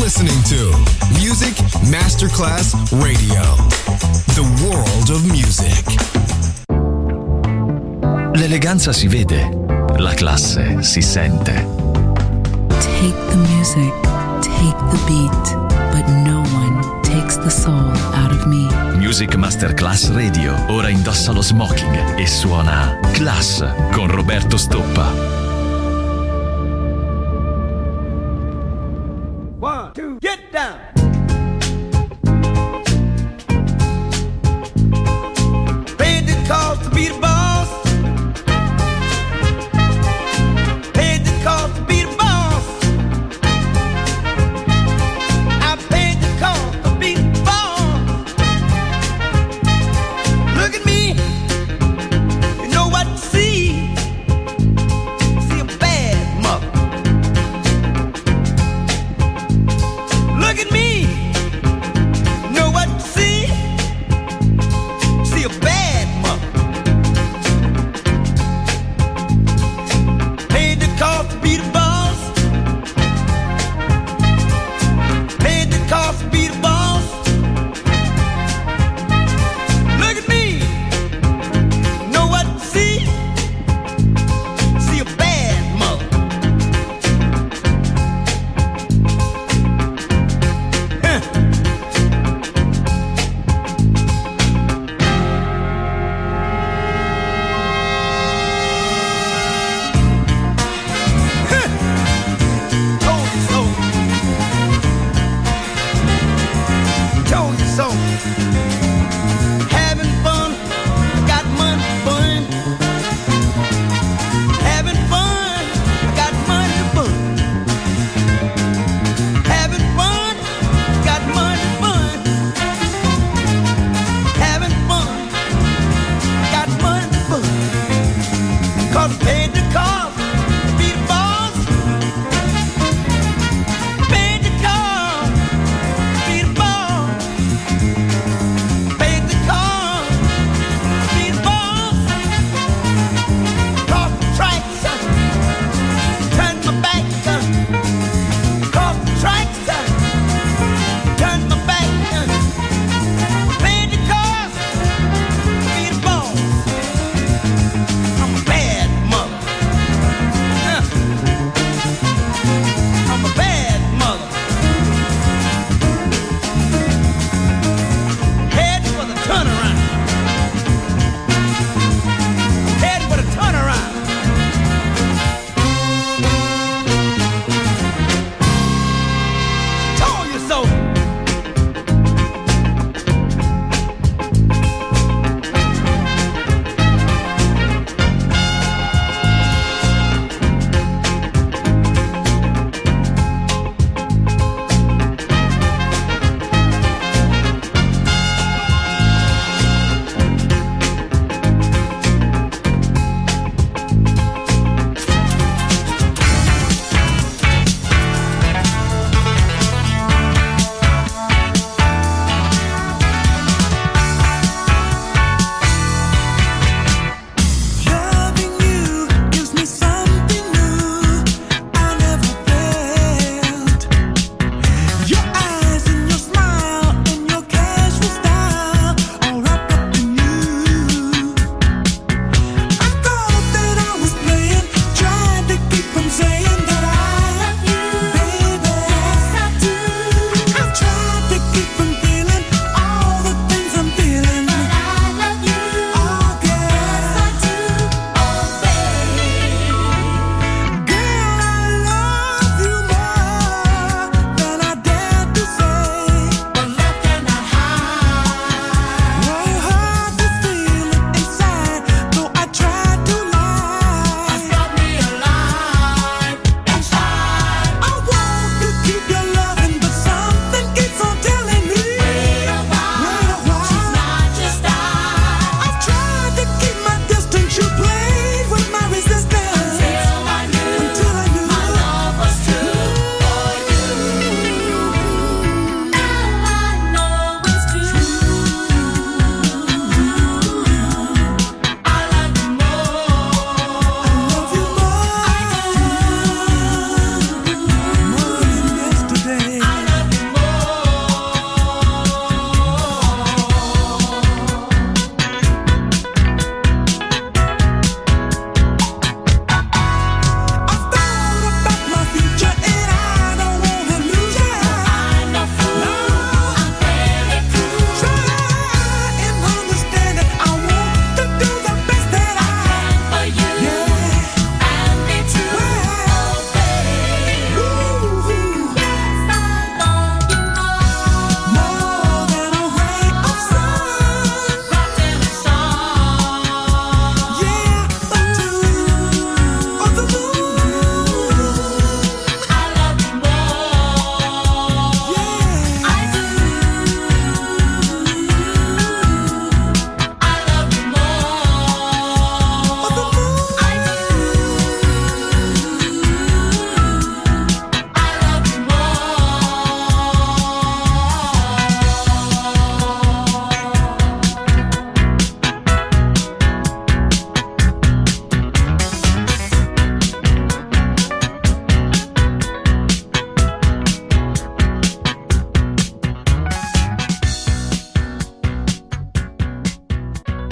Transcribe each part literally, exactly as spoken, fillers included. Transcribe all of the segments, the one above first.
listening to Music Masterclass Radio, the world of music. L'eleganza si vede, la classe si sente. Take the music, take the beat, but no one takes the soul out of me. Music Masterclass Radio ora indossa lo smoking e suona Class con Roberto Stoppa. One, two, get down. Paid the cost to be the boss. Paid the cost to be the boss. I paid the cost to be the boss. Look at me. You know what to see. See a bad mother. Look at me.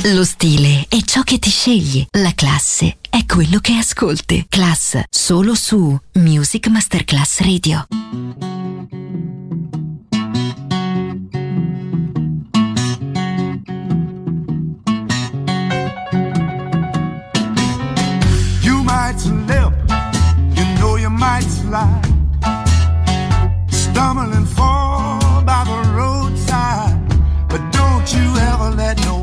Lo stile è ciò che ti scegli, la classe è quello che ascolti. Class solo su Music Masterclass Radio. You might slip, you know you might slide, stumble and fall by the roadside, but don't you ever let nobody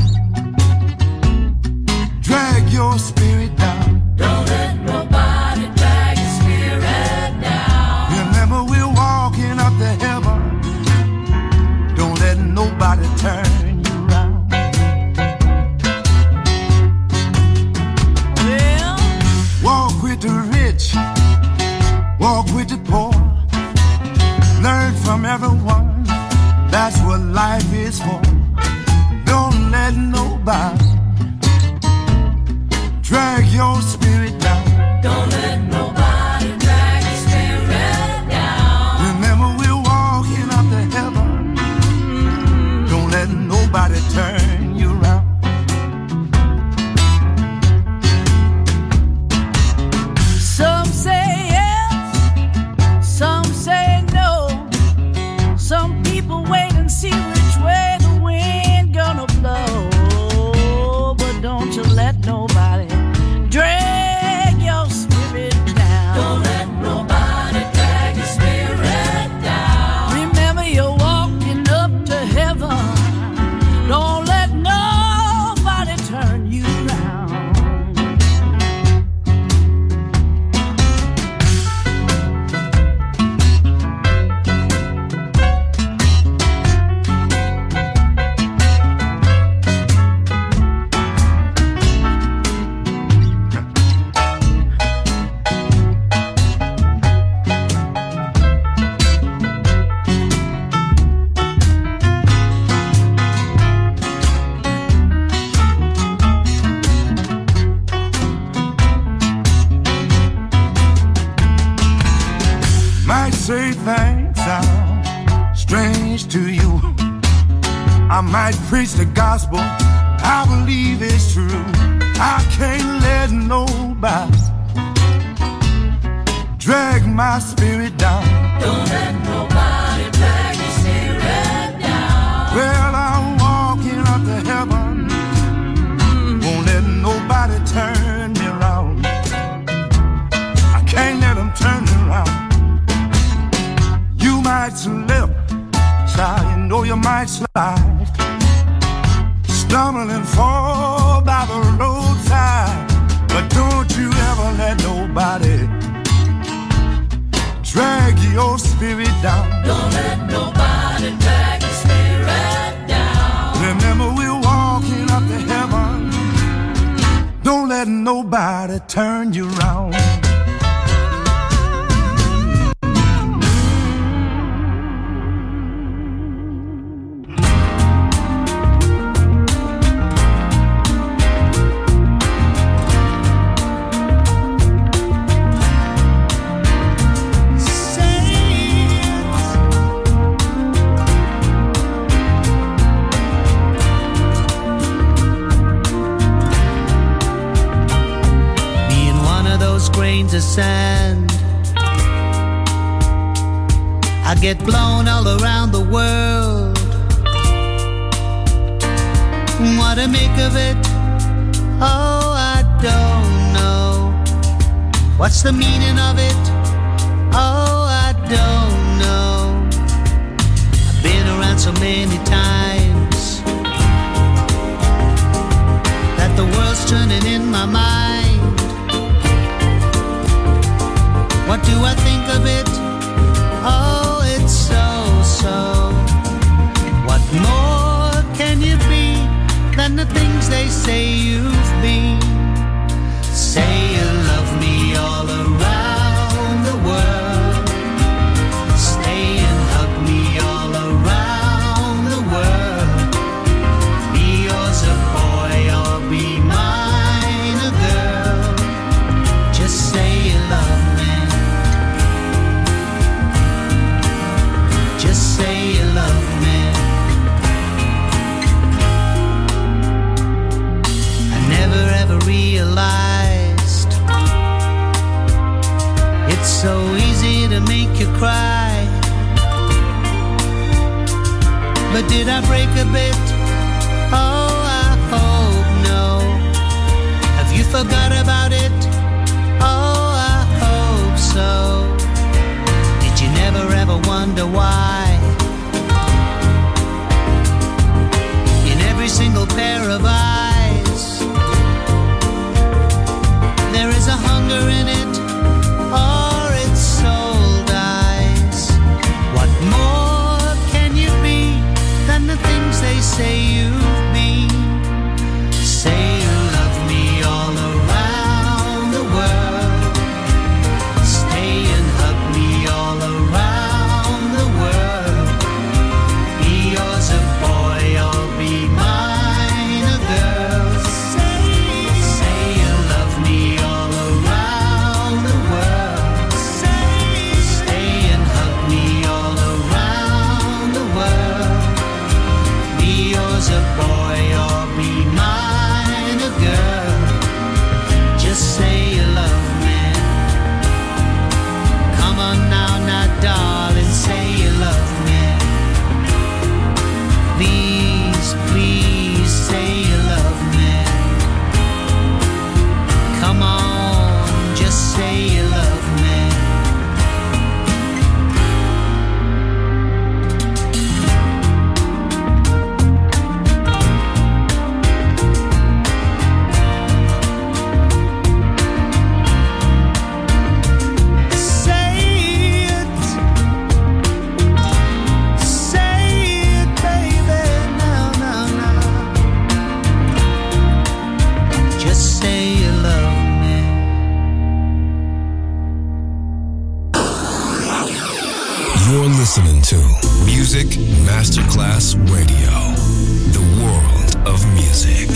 drag your spirit down. Don't let nobody drag your spirit down. Remember we're walking up to heaven. Don't let nobody turn you around. Well, walk with the rich, walk with the poor. Learn from everyone, that's what life is for. Don't let nobody drag your spirit down. don't let nobody drag your spirit down. Remember we're walking up to heaven. Don't let nobody turn you around. Some say yes, some say no. Some people wait and see which way the wind gonna blow. But don't you let nobody drag your spirit down. Don't let nobody drag your spirit down. Remember you're walking up to heaven. Don't let nobody turn you around. Might say things sound strange to you. I might preach the gospel, I believe it's true. I can't let nobody drag my spirit down. Don't let nobody drag your spirit down. Well, I'm walking up to heaven. Won't let nobody turn me around. I can't let them turn me around. You might slip, child, you know you might slide, stumble and fall by the roadside, but don't you ever let nobody drag your spirit down. Don't let nobody drag your spirit down. Remember we're walking up to heaven. Don't let nobody turn you around. Grains of sand, I get blown all around the world. What to make of it? Oh, I don't know. What's the meaning of it? Oh, I don't know. I've been around so many times that the world's turning in my mind. What do I think of it? Oh, it's so, so. What more can you be than the things they say you've been? Say you love me all around the world. Stay and hug me all around the world. Be yours a boy or be mine a girl. Just say you love me. cry. But did I break a bit? Oh, I hope no. Have you forgot about it? Oh, I hope so. Did you never ever wonder why? In every single pair of eyes there is a hunger in it, or its soul dies. What more can you be than the things they say you be? Say you love me all around the world. Stay and hug me all around the world. Be yours a boy or be mine a girl. Say, say you love me all around the world. Say, stay and hug me all around the world. Be yours a boy or be mine a girl. Just say you love me. Come on now, now darling, say you love me. Please, please say you love me. Come on, just say you love me. Say it, say it, baby, now, now, now. Just say you love me. You're listening to Music Masterclass Radio, the world of music.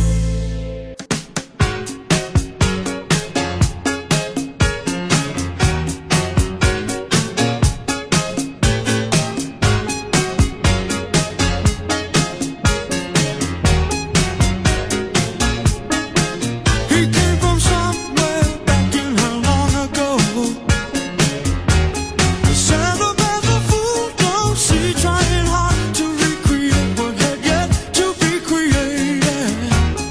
He came from somewhere back in her long ago. The sound of the fool, don't see, trying hard to recreate what had yet to be created.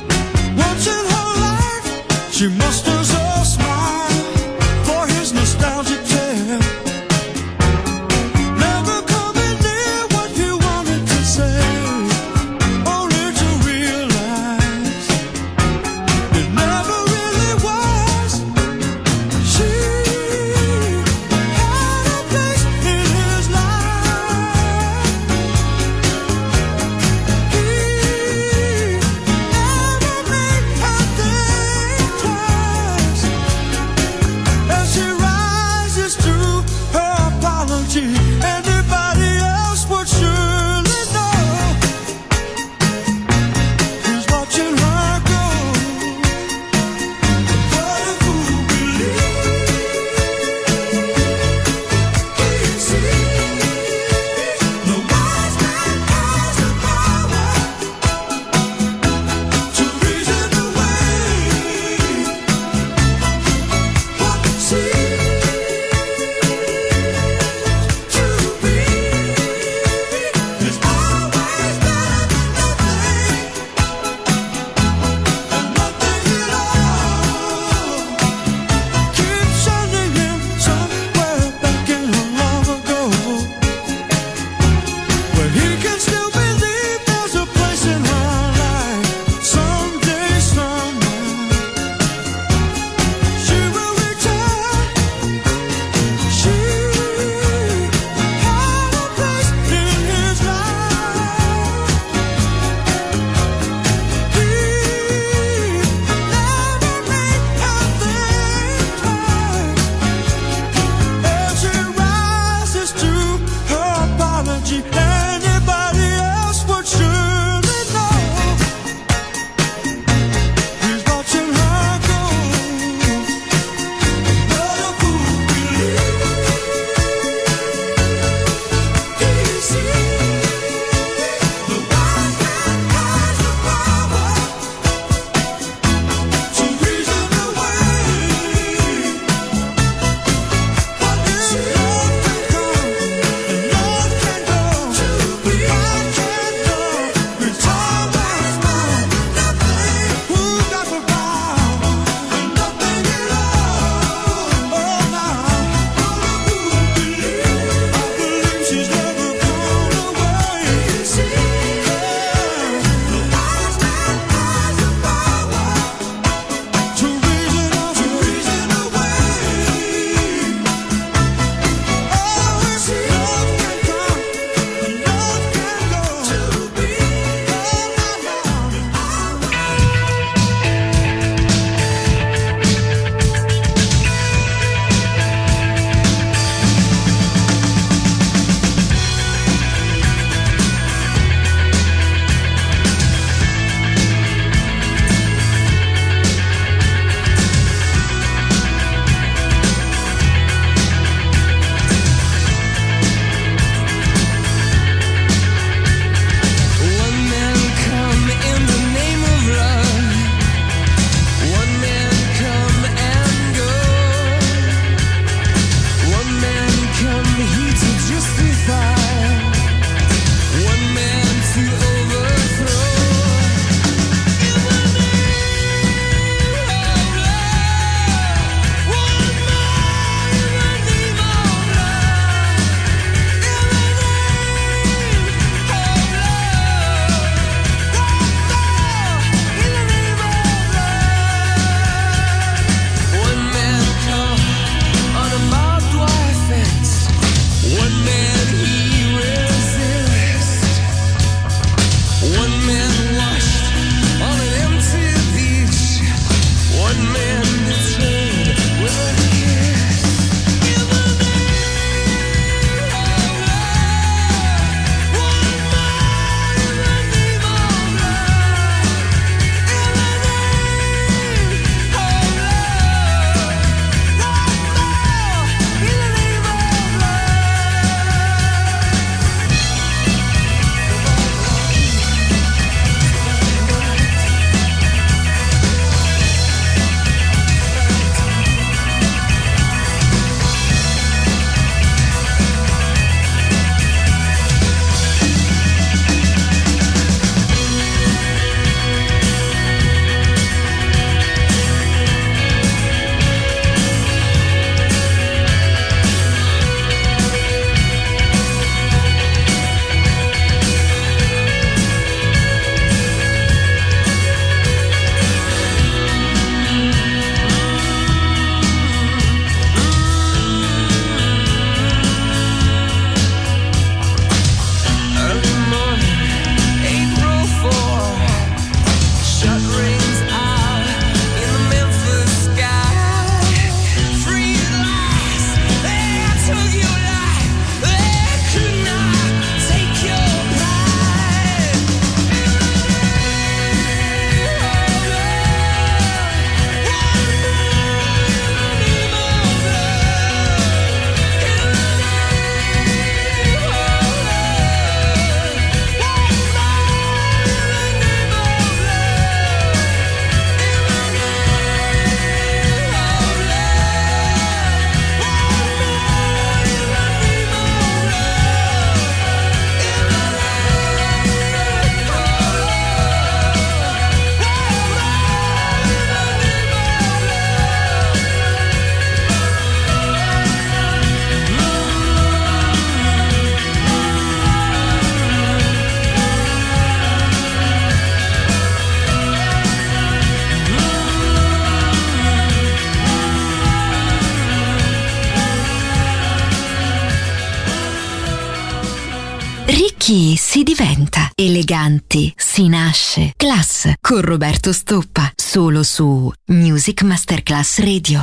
Ricchi si diventa, eleganti si nasce. Class con Roberto Stoppa, solo su Music Masterclass Radio.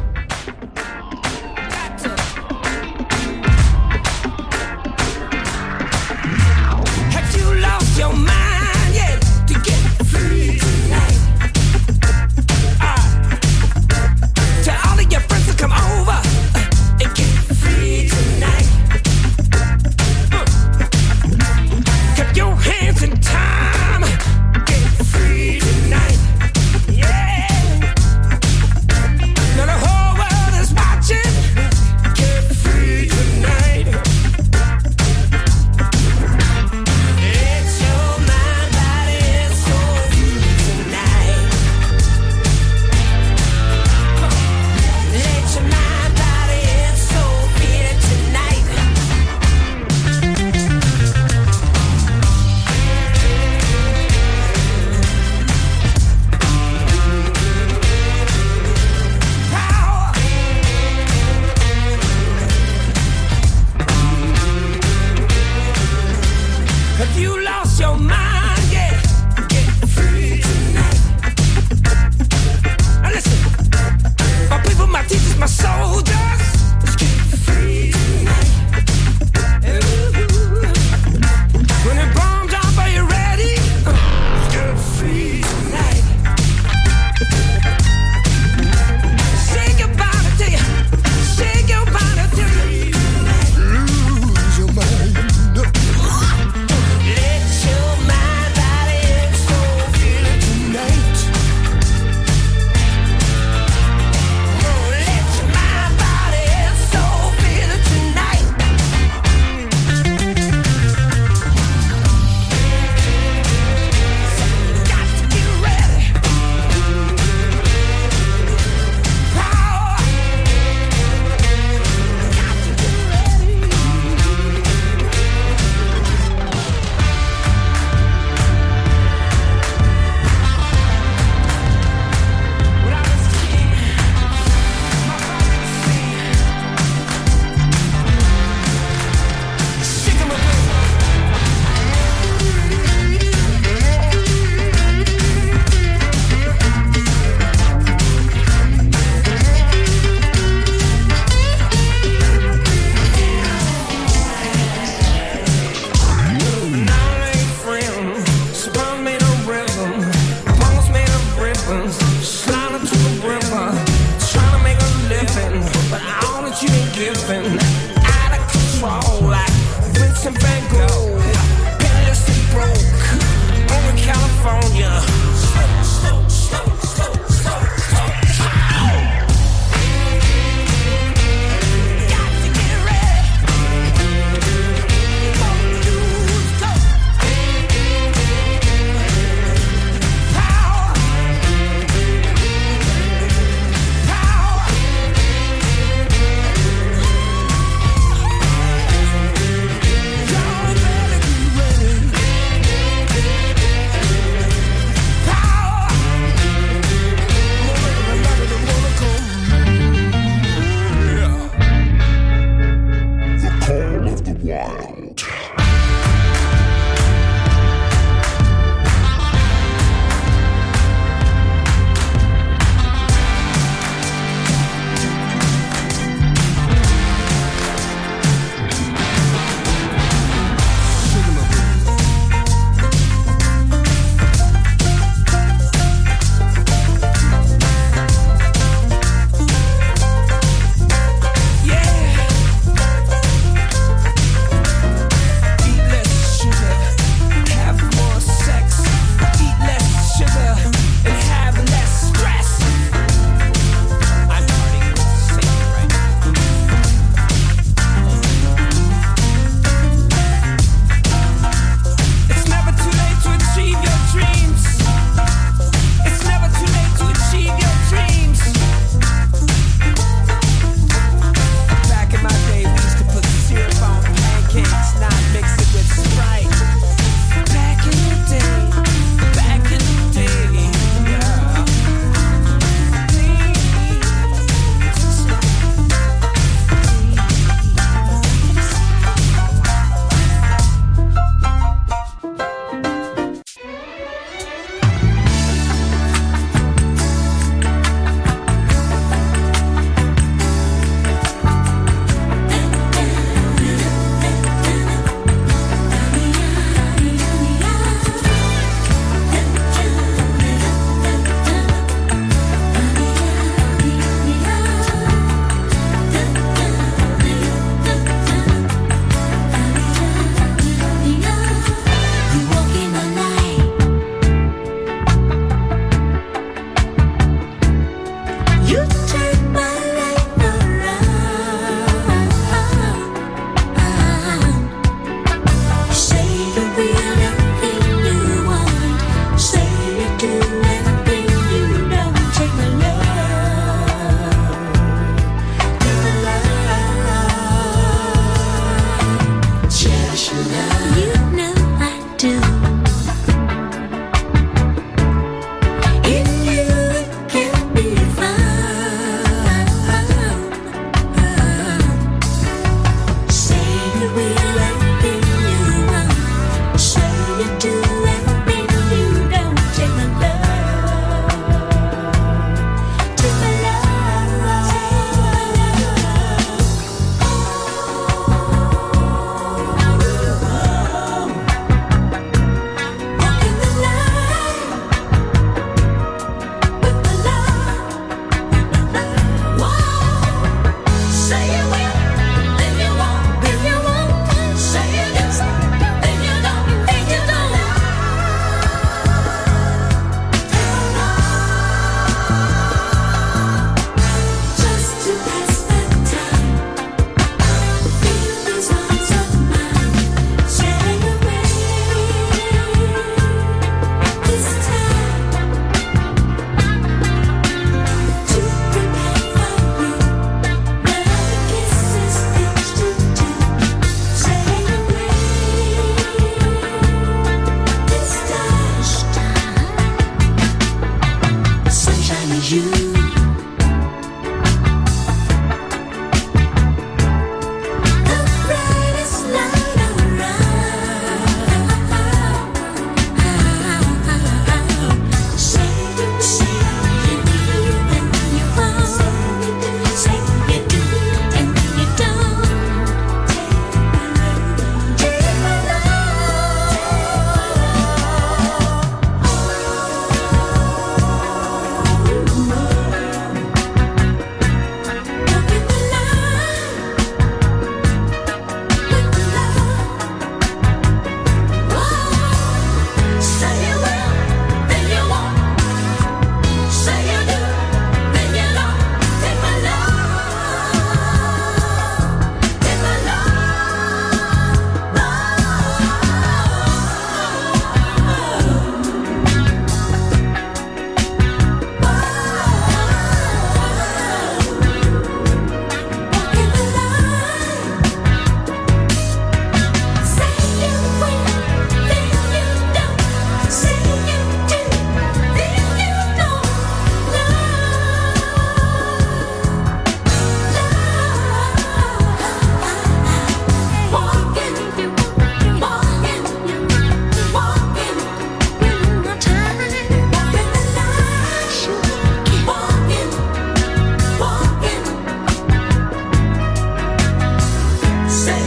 Have you lost your mind yet to get free tonight? Uh, tell all of your friends to come over uh, and get free tonight. Your hands in time, get free tonight. Yeah. Now the whole world is watching. Get free tonight. It's your mind, body, and soul tonight. Let your mind, body, and soul feel it tonight. Have you lost your mind? Yeah, get free tonight. Now listen, my people, my teachers, my soldiers, let's get free tonight. Ooh. When it bombs up, are you ready? Uh, let's get free tonight. Say goodbye to you, say goodbye to you. Lose your mind. Let your mind, body, and soul feel it tonight. Oh, let your mind, body, and soul feel it tonight. Got to get ready. Power. Got to get ready. When I was a kid, my father would sing, "Shake 'em up." Now ain't friends, Spawn made of rhythm, bones made of ribbons, slide into the river, trying to make a living, but all that you ain't giving, out of control like Vincent Van Gogh, penniless and broke, over California. Slow, slow, slow, slow, slow, slow. Got to get ready. All you do is go. Power. Power. Y'all better be ready. Power. Everybody that wanna come. The call of the wild. Yeah.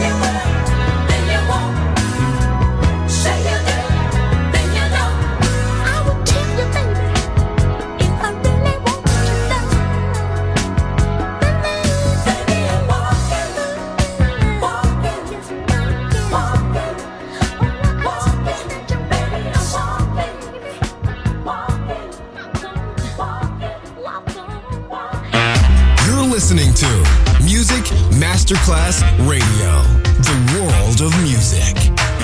listening to Music Masterclass Radio, the world of music.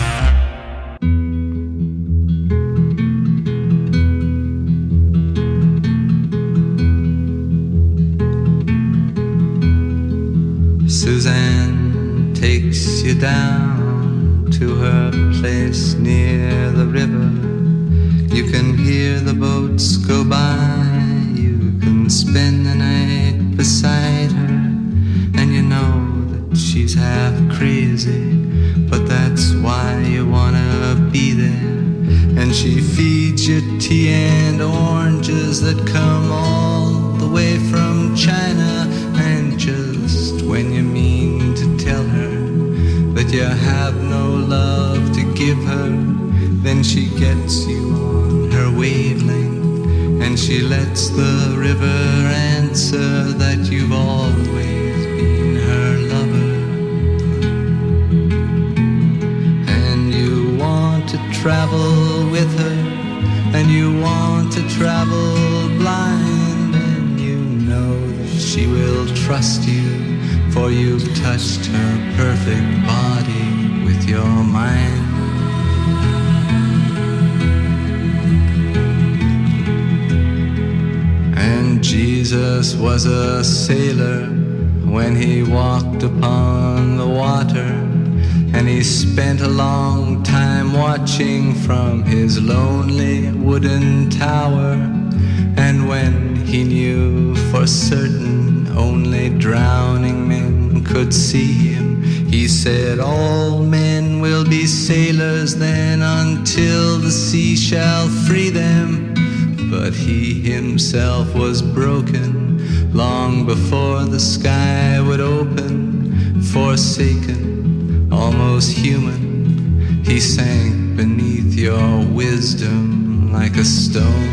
Suzanne takes you down to her place near the river. You can hear the boats go by. You can spend the night beside her, and you know that she's half crazy, but that's why you wanna be there. And she feeds you tea and oranges that come all the way from China. And just when you mean to tell her that you have no love to give her, then she gets you on her wavelength, and she lets the river answer that you've always been her lover. And you want to travel with her, and you want to travel blind, and you know that she will trust you, for you've touched her perfect body with your mind. And Jesus was a sailor when he walked upon the water, and he spent a long time watching from his lonely wooden tower. And when he knew for certain only drowning men could see him, he said, all men will be sailors then until the sea shall free them. But he himself was broken long before the sky would open. Forsaken, almost human, he sank beneath your wisdom like a stone.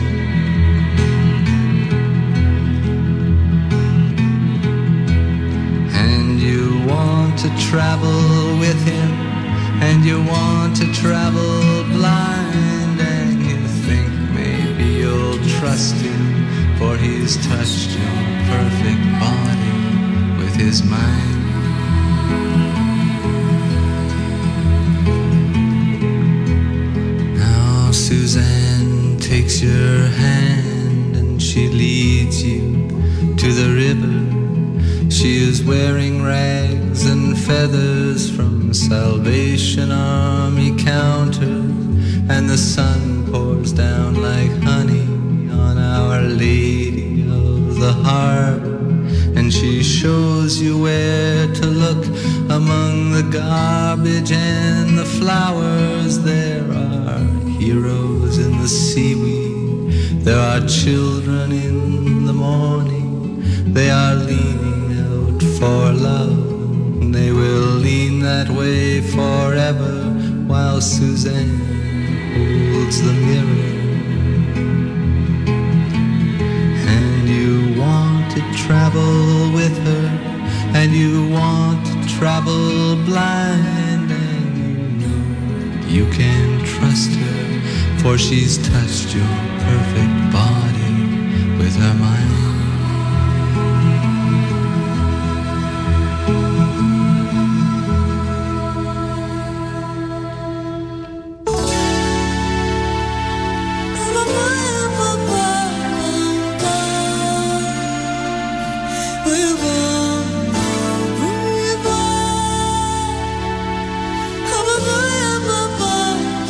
And you want to travel with him, and you want to travel blind, and you think maybe you'll trust him, for he's touched your perfect body with his mind. Now Suzanne takes your hand and she leads you to the river. She is wearing rags and feathers from Salvation Army counters, and the sun pours down like honey on Our Lady of the Harbor. And she shows you where to look among the garbage and the flowers. There are heroes in the seaweed, there are children in the morning. They are leaning out for love, they will lean that way forever, while Suzanne holds the mirror. And you want to travel with her, and you want to travel blind, and you know you can trust her, for she's touched your perfect body with her mind.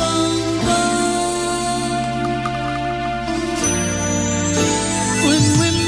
When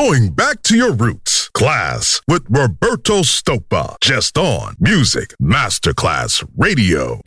Going back to your roots. Class with Roberto Stoppa. Just on Music Masterclass Radio.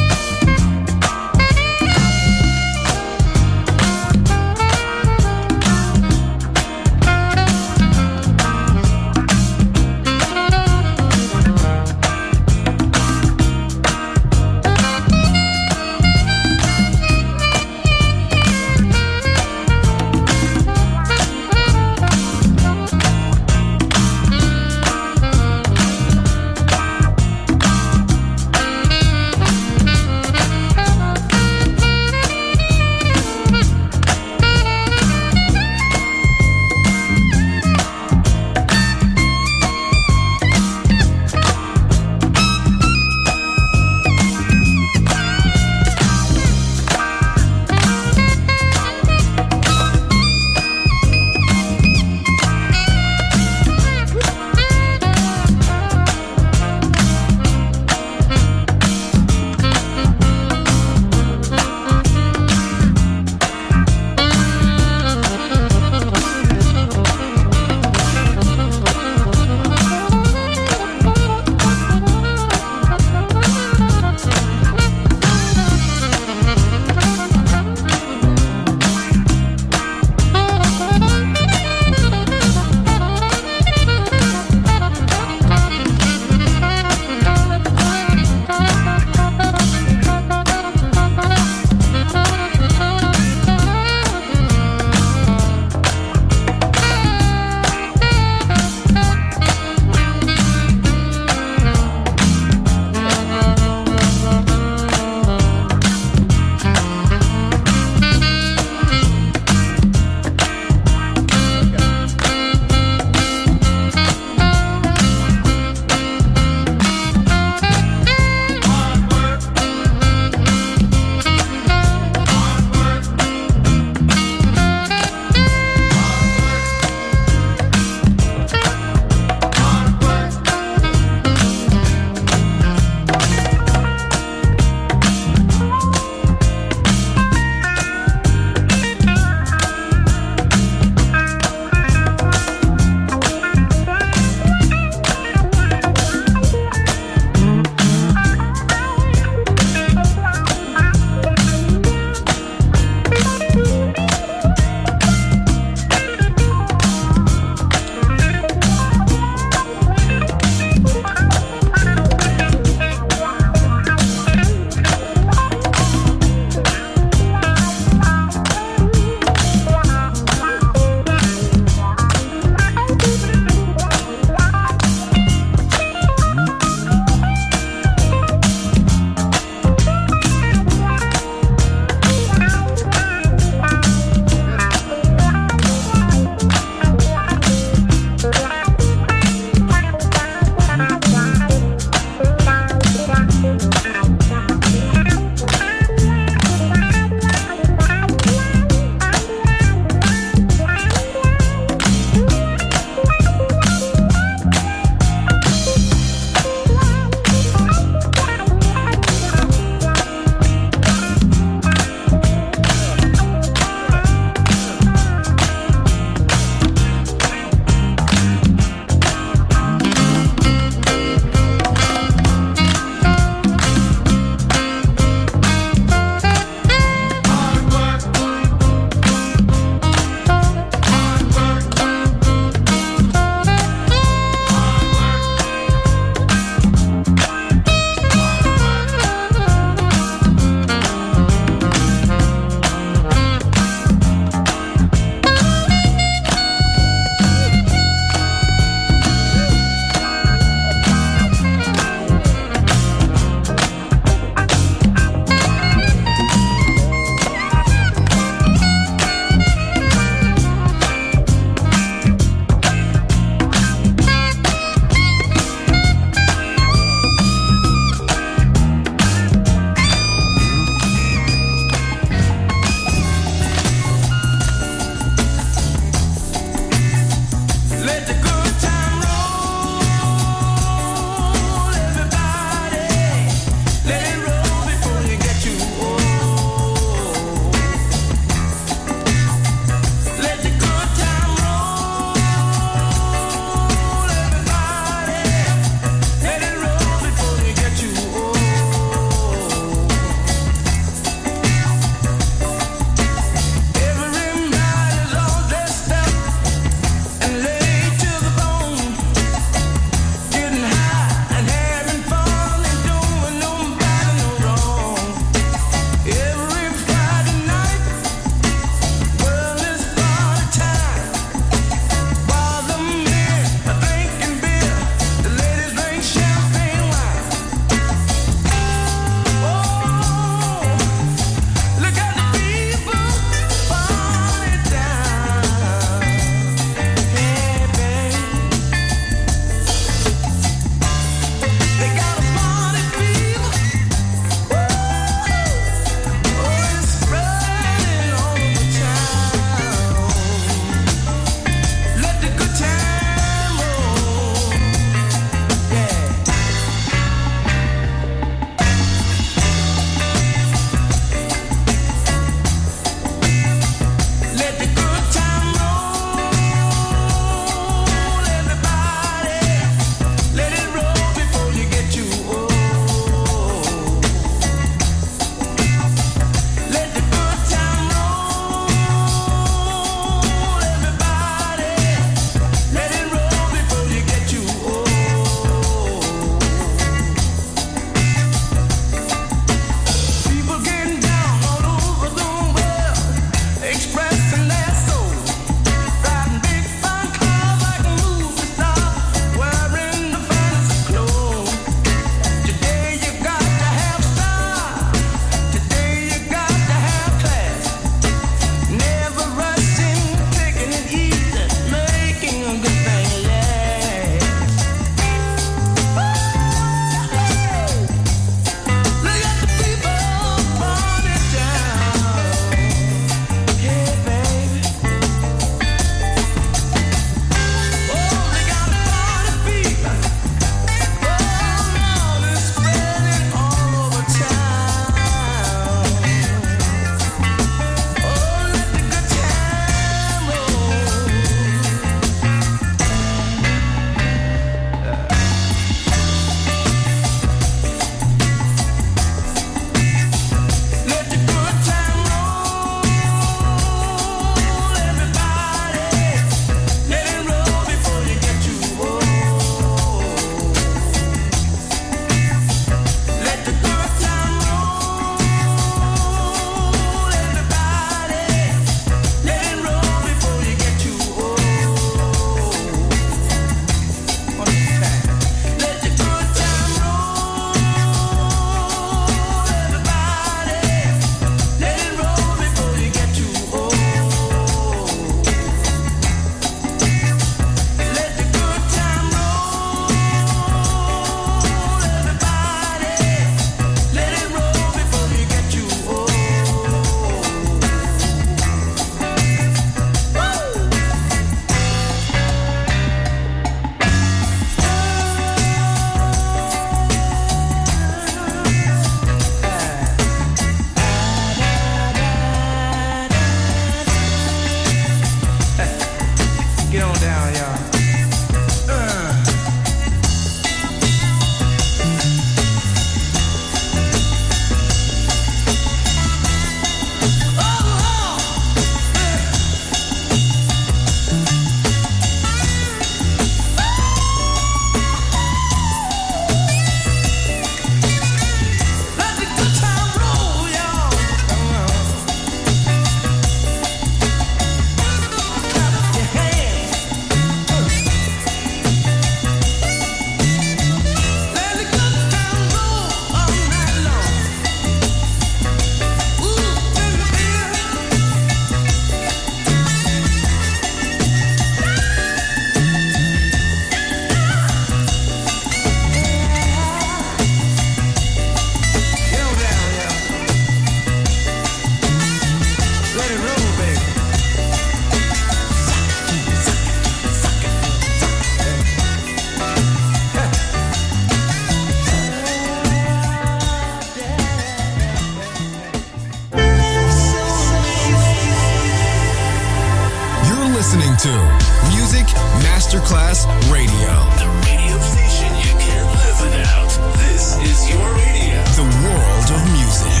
listening to Music Masterclass Radio. The radio station you can't live without. This is your radio. The world of music.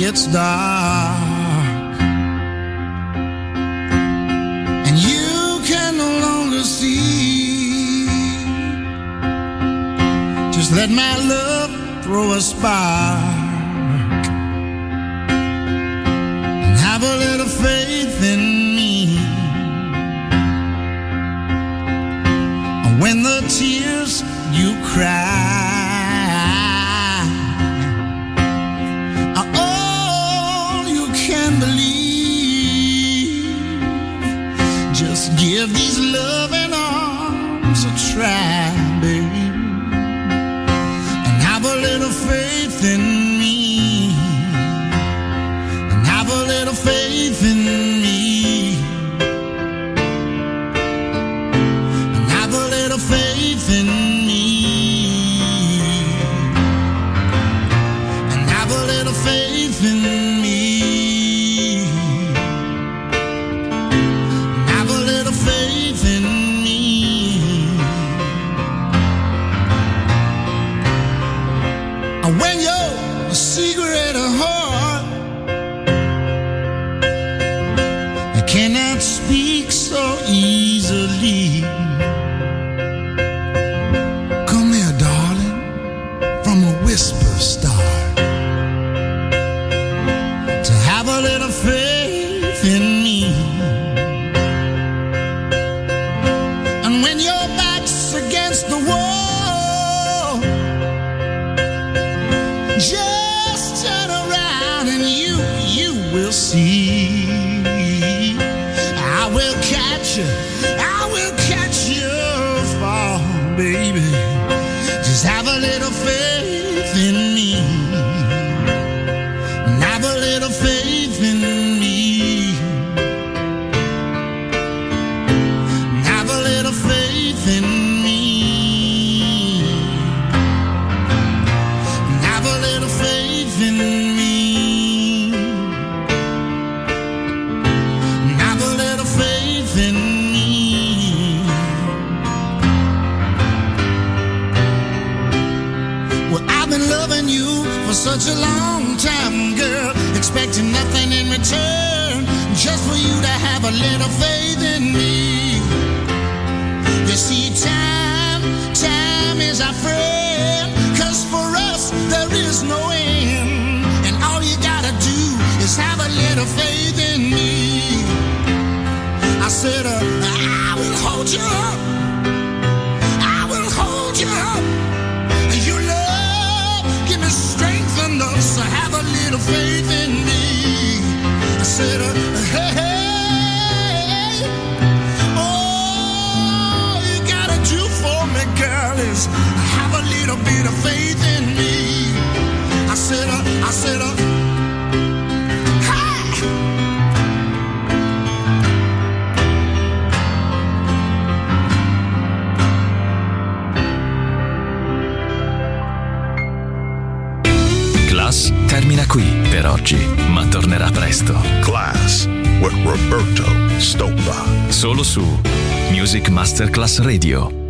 it's dark and you can no longer see, just let my love throw a spark and have a little faith in me. When the tears you cry give these loving arms a try, baby, and have a little faith in me, and have a little faith in me, and have a little faith in me, and have a little faith in me. When you're a secret of heart, I cannot speak so easily. Come here, darling, from a whisper start, to have a little faith in me. And when your back's against the wall, just turn around and you, you will see. I will catch you, I will catch you fall, baby. Just have a little faith in me, and have a little faith in me, and have a little faith in me. In me, have a little faith in me. Well, I've been loving you for such a long time, girl, expecting nothing in return, just for you to have a little faith in me. You see, time, time is our friend, 'cause for us there is no end. All you gotta do is have a little faith in me. I said, uh, I will hold you up, I will hold you up. Your love, give me strength enough, so have a little faith in me. I said, uh, hey, hey, all you gotta do for me, girl, is have a little bit of faith in me. I said, uh, I said, uh, hi! Class termina qui per oggi, ma tornerà presto. Class with Roberto Stoppa. Solo su Music Masterclass Radio.